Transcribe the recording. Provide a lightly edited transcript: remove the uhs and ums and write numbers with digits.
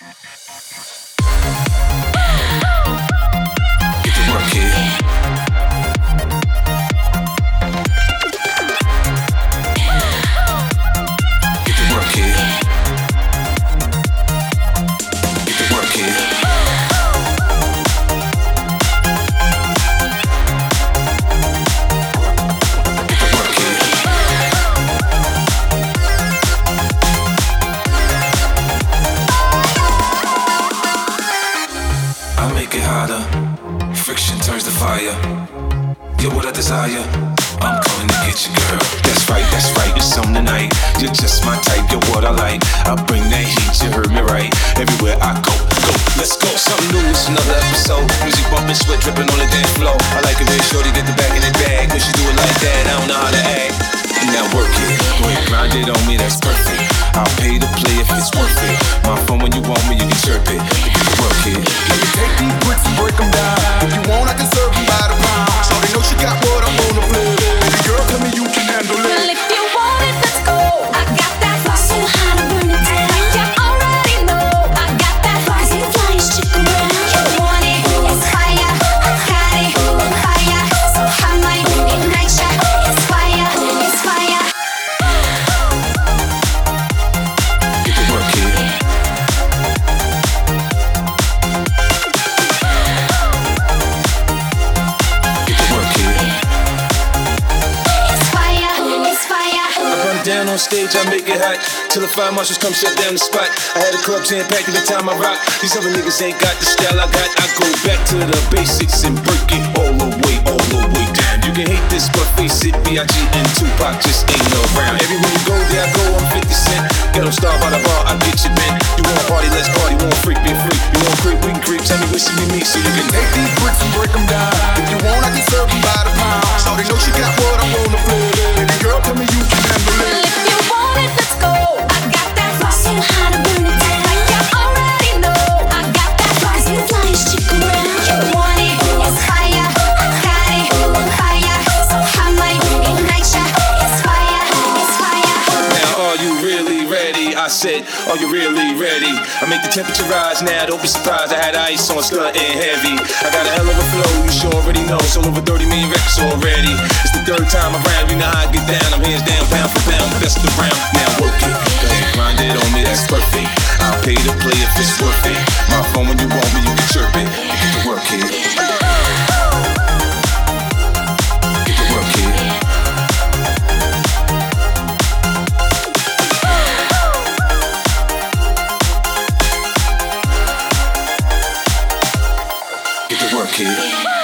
Get to work, kid. Get to work, kid. Get to work, kid. I make it hotter, friction turns to fire. You're what I desire, I'm coming to get you, girl. That's right, it's on tonight. You're just my type, you're what I like. I bring that heat, you heard me right. Everywhere I go, let's go. Something new, it's another episode. Music bumping, sweat dripping on the dance floor. I like it when shorty get the back in the bag. When she do it like that, I don't know how to act. Now work it, go ahead, grind it on me, that's perfect. I'll pay to play if it's worth it. My phone when you want me, you can chirp it. Get to work it. Let me take these bricks and break them down. If you want, I can serve them by the pound. Shorty know she got what I wanna play. Baby girl, tell me you can handle it. Well, if you want it, let's go. I got that fire, so hot to burn it down. You already know I got that fire, so flying chick around. You want it, it's fire. I got it, fire. So I might ignite ya. It's fire, it's fire. Get to work, kid. Get to work, kid. It's fire, it's fire. I run down on stage, I make it hot. Till the fire marshals come shut down the spot. I had a club jam-packed every time I rock. These other niggas ain't got the style I got. I go back to the basics and break it all the way down. You can hate this, but face it, B.I.G. and Tupac just ain't around. Everywhere you go, there I go, I'm 50 Cent. Ghetto star by the bar, I get you bent. You want party, let's party. Want freak, be a freak. You want creep, we can creep. Tell me what you need me so you can Take these bricks and break them down. If you want, I can serve them by the pound. Shorty know she got what I wanna play. Baby girl, tell me you can handle Well, it. if you want it, let's go. I got that fire, so hot to burn it down. You already know I got that fire, so flying chick around. You want it, it's fire. I got it, fire. So I might ignite ya. It's fire, it's fire. Now, are you really ready? I said, are you really ready? I make the temperature rise now, don't be surprised. I had ice on, stunting heavy. I got a hell of a flow, you sure already know. Sold over 30 million records already. It's the third time around, you know how I get down. I'm hands down, pound for pound, best around. Now work it, go ahead, grind it on me, that's perfect. I'll pay to play if it's worth it. My phone when you want me, you can chirp it. Get to work, kid. Get to work, kid. Get to work, kid.